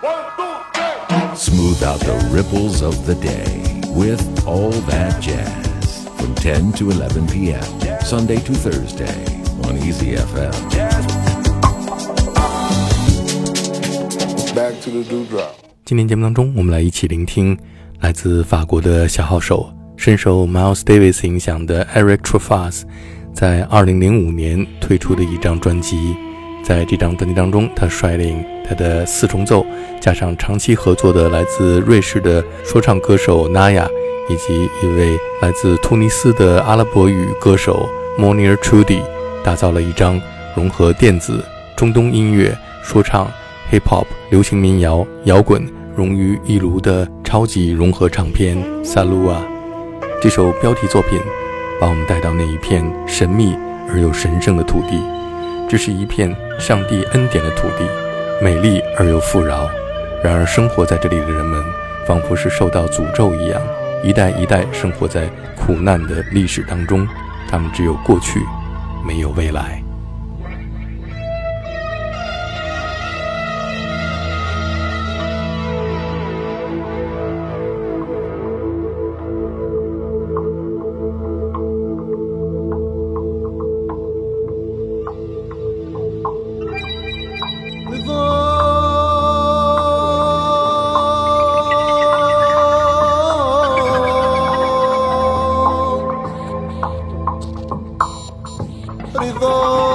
Smooth out the ripples of the day with All That Jazz from 10 to 11 p.m. Sunday to Thursday on Easy FM. Back to the dewdrop. 今天节目当中，我们来一起聆听来自法国的小号手，深受 Miles Davis 影响的 Eric Truffaz 在2005年推出的一张专辑。在这张专辑当中，他率领他的四重奏，加上长期合作的来自瑞士的说唱歌手 Naya， 以及一位来自突尼斯的阿拉伯语歌手 Monir Trudi， 打造了一张融合电子、中东音乐、说唱、Hip Hop、流行民谣、摇滚融于一炉的超级融合唱片 Salua。 这首标题作品把我们带到那一片神秘而又神圣的土地。这是一片上帝恩典的土地，美丽而又富饶。然而生活在这里的人们仿佛是受到诅咒一样，一代一代生活在苦难的历史当中，他们只有过去，没有未来。 Ridho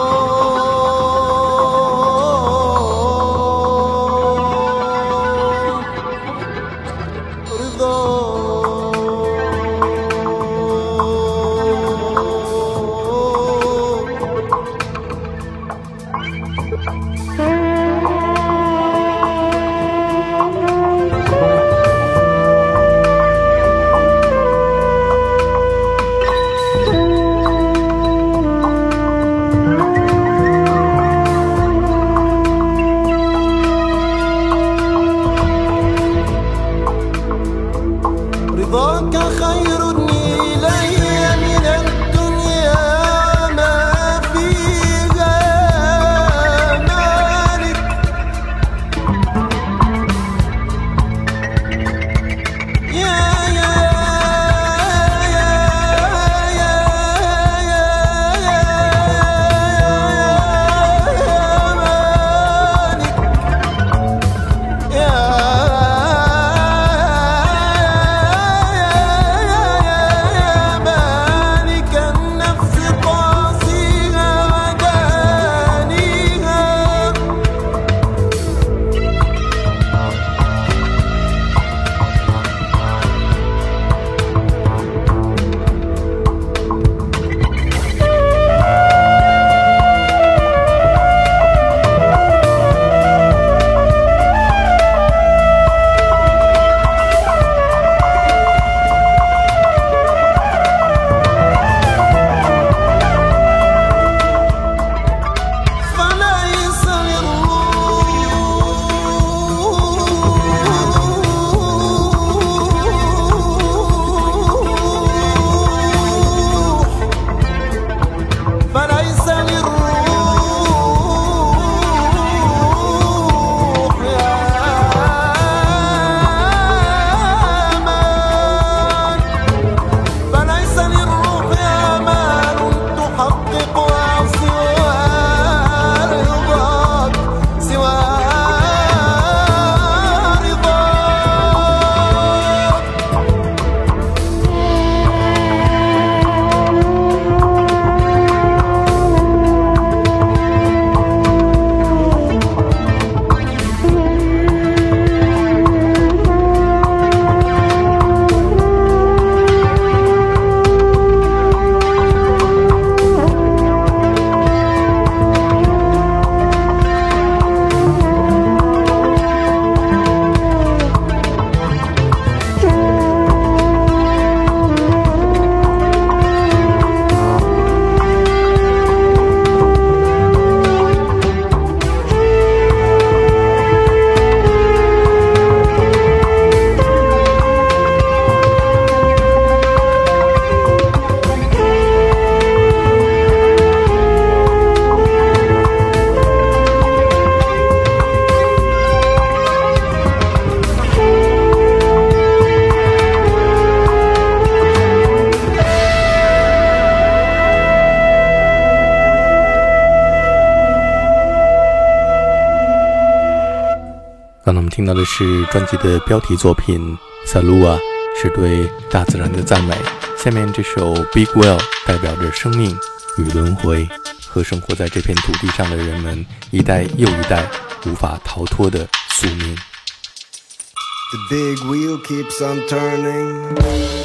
刚才我们听到的是专辑的标题作品 Salua， 是对大自然的赞美。下面这首 Big Well 代表着生命与轮回和生活在这片土地上的人们一代又一代无法逃脱的宿命。 The big wheel keeps on turning.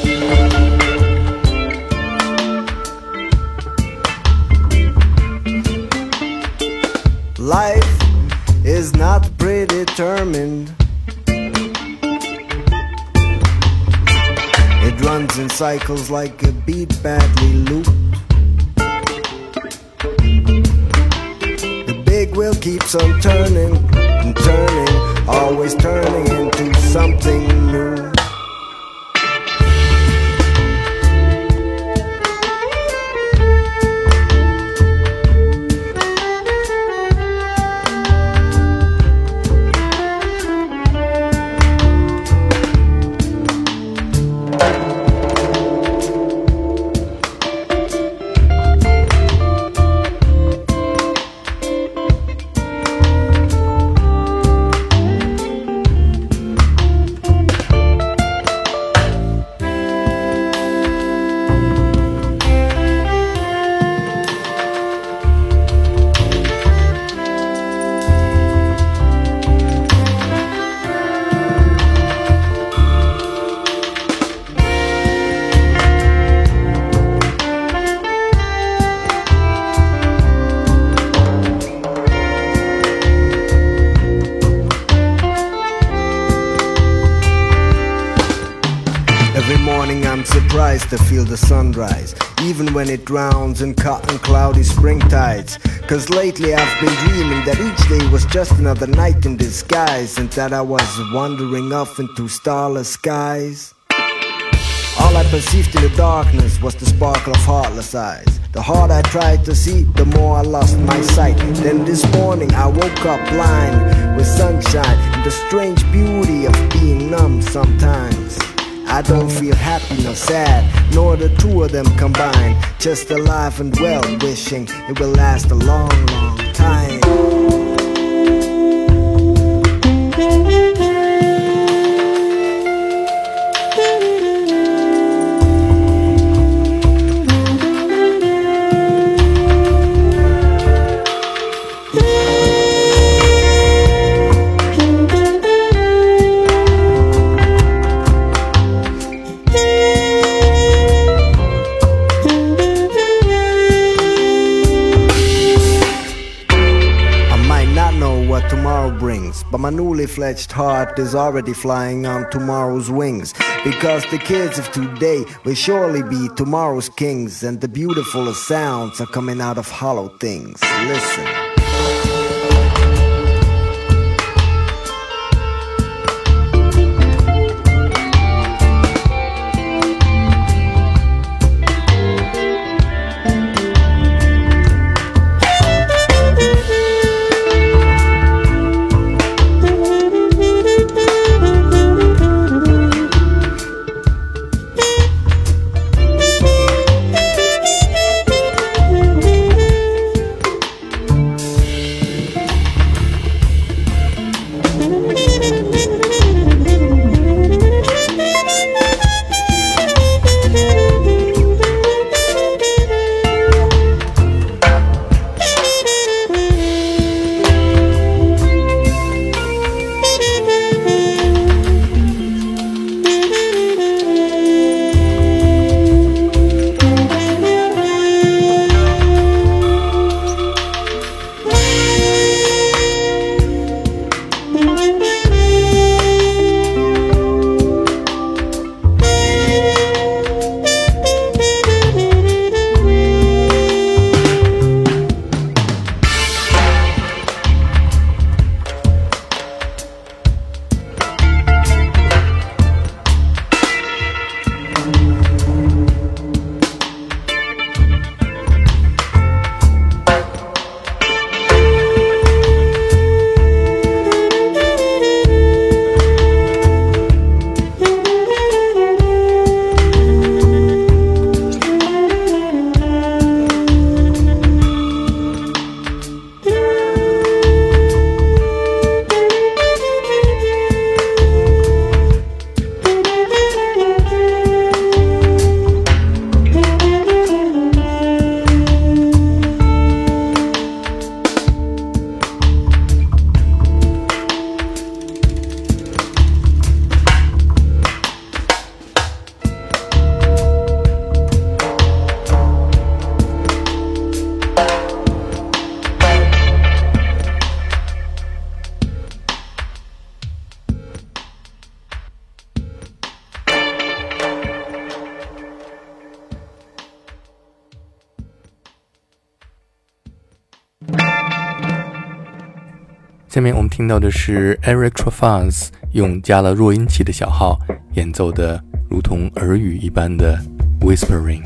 Life is not predetermined. It runs in cycles like a beat badly looped. The big wheel keeps on turning and turning, always turning into something new. Every morning I'm surprised to feel the sunrise, even when it drowns in cotton cloudy spring tides. Cause lately I've been dreaming that each day was just another night in disguise, and that I was wandering off into starless skies. All I perceived in the darkness was the sparkle of heartless eyes. The harder I tried to see, the more I lost my sight. Then this morning I woke up blind with sunshine and the strange beauty of being numb sometimes. I don't feel happy nor sad, nor the two of them combined. Just alive and well, wishing it will last a long, long time. But my newly fledged heart is already flying on tomorrow's wings. Because the kids of today will surely be tomorrow's kings, and the beautifulest sounds are coming out of hollow things. Listen. 下面我们听到的是 Eric Truffaz 用加了弱音器的小号演奏的如同耳语一般的 Whispering。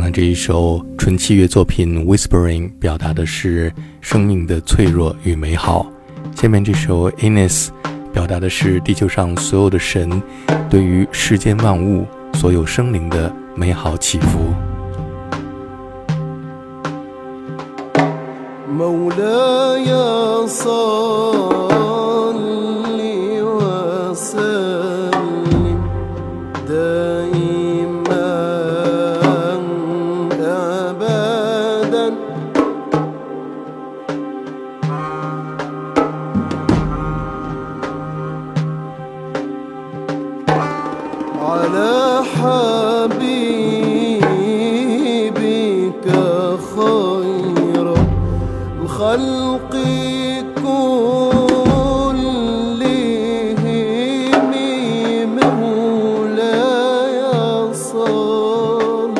刚才这一首纯器乐作品 Whispering 表达的是生命的脆弱与美好，下面这首 Ines 表达的是地球上所有的神对于世间万物所有生灵的美好祈福。 مولاي صل وسلم دائما أبدا على حبيبك خير الخلق كلهم مولاي صل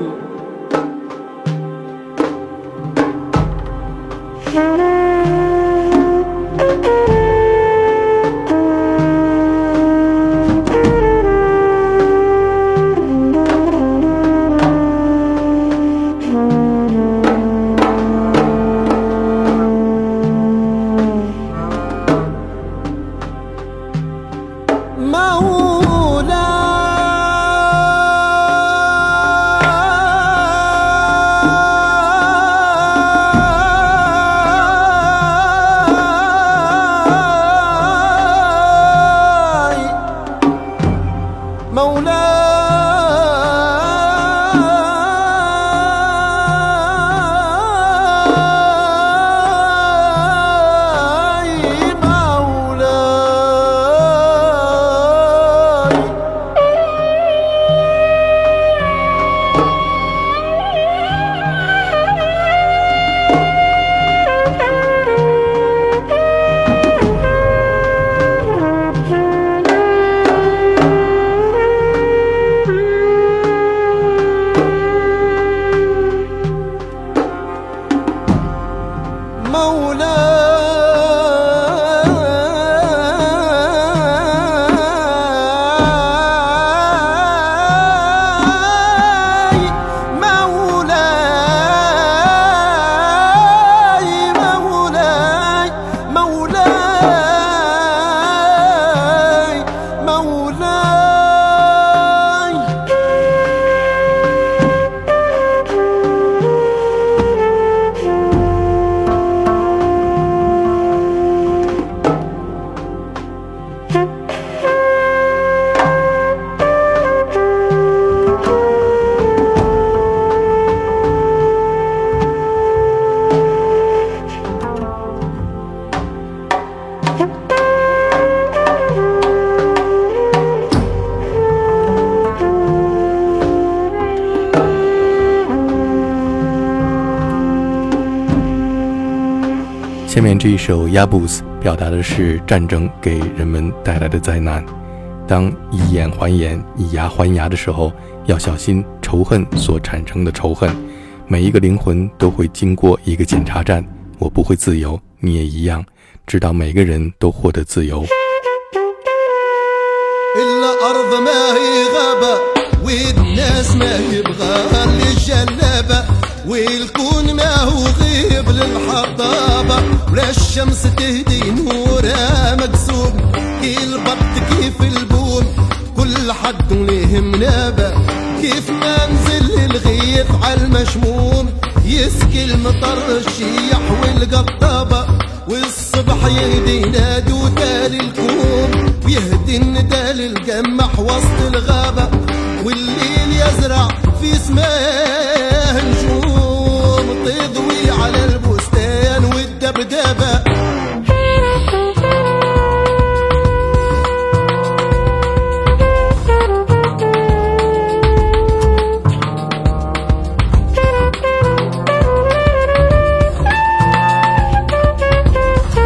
下面这一首 Yabuz 表达的是战争给人们带来的灾难。当以眼还眼，以牙还牙的时候，要小心仇恨所产生的仇恨。每一个灵魂都会经过一个检查站，我不会自由，你也一样，直到每个人都获得自由。 والناس ما يبغى اللي جلبه والكون ما هو غيب للحطابة ولا الشمس تهدي نورها مكسوب البط كيف البوم كل حد ليه منابة كيف ما نزل الغيث على المشموم يسكي المطر الشيح والقطابة والصبح يهدي نادو تالي الكوم ويهدي الندى للقمح وسط الغابة والليل يزرع في سماه نجوم تضوي على البستان والدبدبة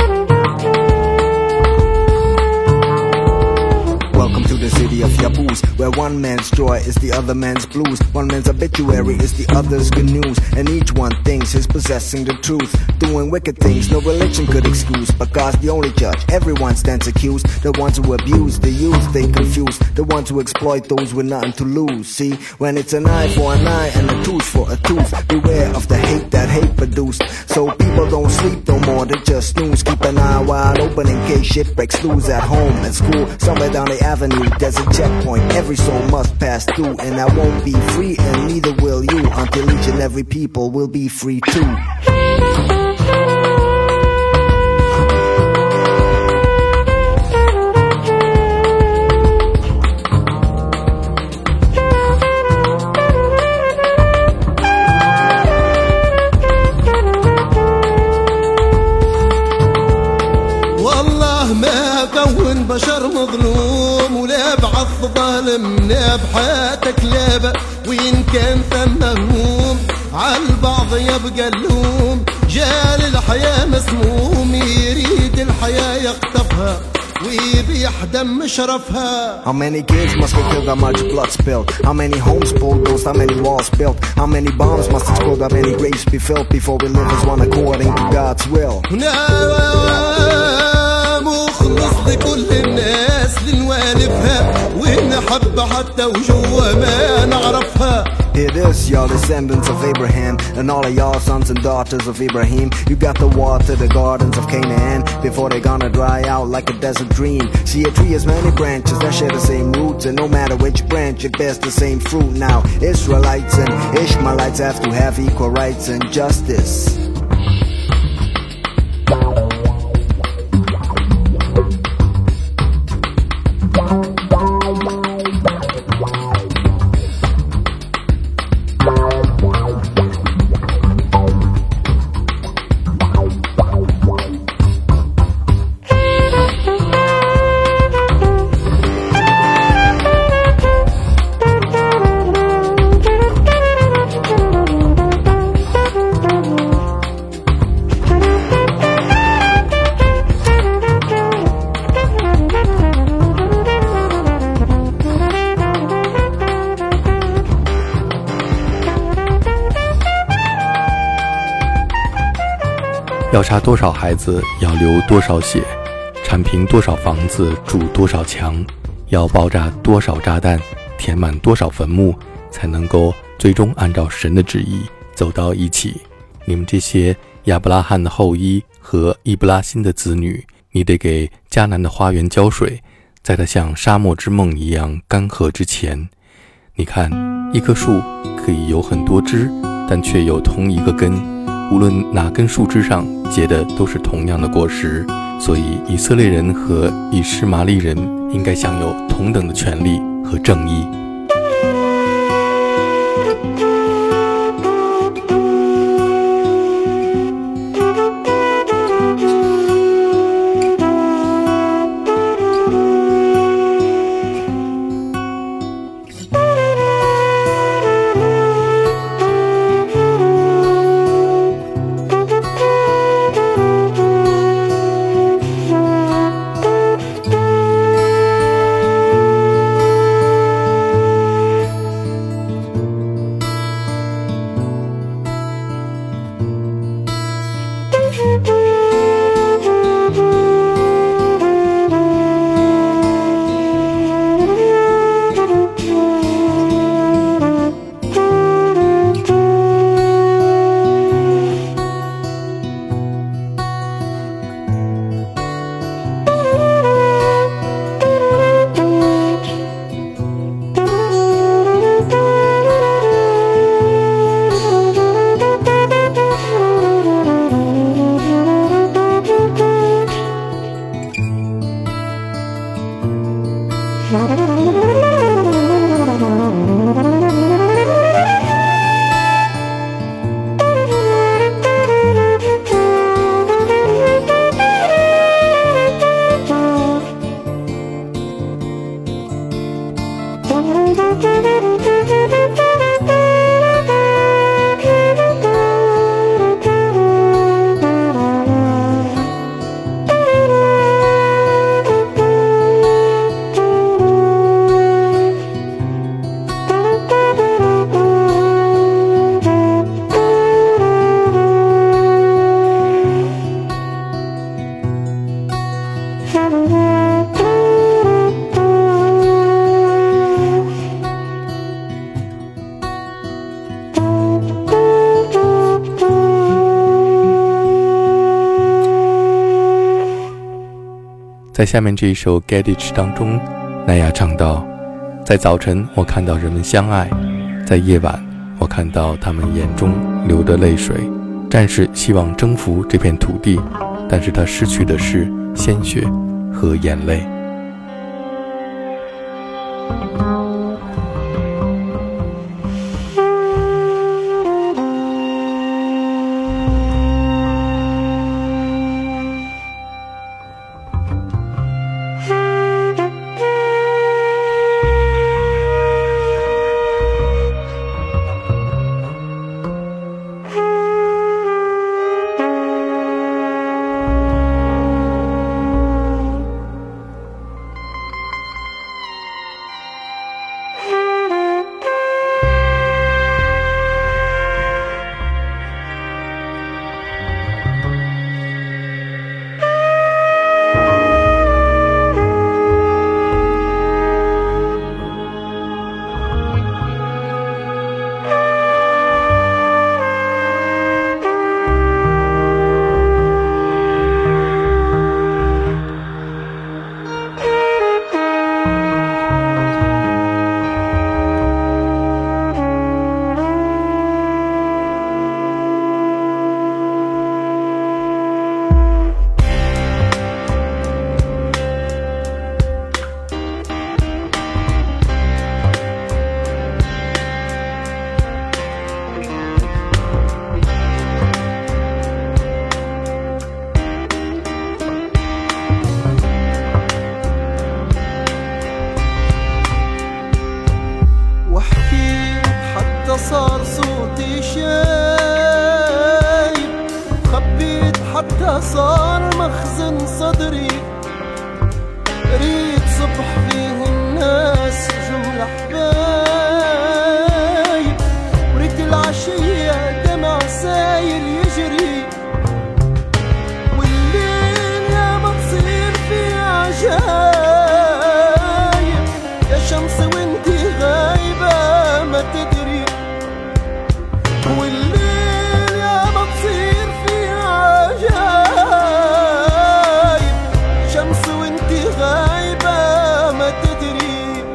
Welcome to the city of Yabuz, where one man's joy is the other man's blues. One man's obituary is the other's good news, and each one thinks he's possessing the truth. Doing wicked things no religion could excuse, but God's the only judge. Everyone stands accused. The ones who abuse the youth, they confuse. The ones who exploit those with nothing to lose. See, when it's an eye for an eye and a tooth for a tooth, beware of the hate that hate produced. So people don't sleep no more, they just snooze. Keep an eye wide open in case shit breaks loose at home, at school, somewhere down the avenue. There's a checkpoint every soul must pass through, and I won't be free, and neither will you, until each and every people will be free too. بشر مظلوم ولا بعض ظالم لا بحياتك لابا وين كان ثم هموم عالبعض يبقى اللوم جال الحياة مسموم يريد الحياة يقطفها ويبيح دم شرفها. How many kids must get killed, how much blood spilled? How many homes bulldozed, how many walls built? How many bombs must explode, how many graves be filled before we live as one according to God's will? مخلص لكل الناس لنوالفها ونحب حتى وجوه ما نعرفها. Hear this, y'all descendants of Abraham, and all of y'all sons and daughters of Ibrahim. You got the water, the gardens of Canaan, before they're gonna dry out like a desert dream. See, a tree has many branches that share the same roots, and no matter which branch, it bears the same fruit. Now, Israelites and Ishmaelites have to have equal rights and justice. 要杀多少孩子，要流多少血，铲平多少房子，筑多少墙，要爆炸多少炸弹，填满多少坟墓，才能够最终按照神的旨意走到一起。你们这些亚伯拉罕的后裔和伊布拉辛的子女，你得给迦南的花园浇水，在它像沙漠之梦一样干涸之前。你看，一棵树可以有很多枝，但却有同一个根，无论哪根树枝上结的都是同样的果实。所以以色列人和以实玛利人应该享有同等的权利和正义。 在下面这一首 Get It 当中，奈亚唱道，在早晨我看到人们相爱，在夜晚我看到他们眼中流的泪水。战士希望征服这片土地，但是他失去的是鲜血和眼泪。 صار صوتي شايب، خبيت حتى صار مخزن صدري، ريت صبح فيه الناس جملة حبايب، وريت العشية دمع سايل يجري، والليل يا ما تصير فيه عجايب، يا شمس وانتي غايبة ما تدري، والليل يا ما تصير فيه عجايب، شمس وانتي غايبة ما تدري.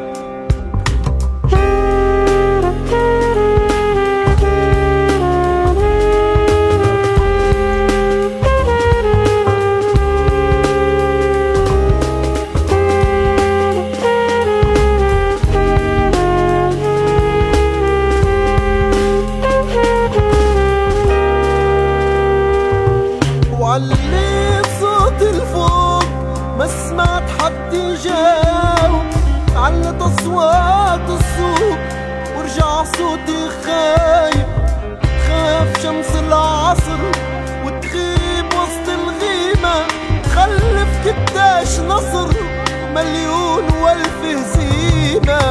وعليت صوت الفوق ما سمعت حد يجاوب، علت أصوات السوق ورجع صوتي خايب، خاف شمس العصر وتغيب وسط الغيمة، تخلف كداش نصر مليون والف هزيمة.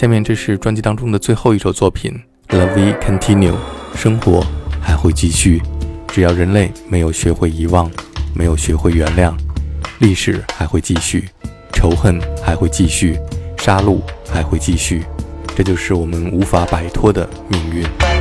下面这是专辑当中的最后一首作品 La Vie Continue， 生活还会继续，只要人类没有学会遗忘，没有学会原谅，历史还会继续，仇恨还会继续，杀戮还会继续，这就是我们无法摆脱的命运。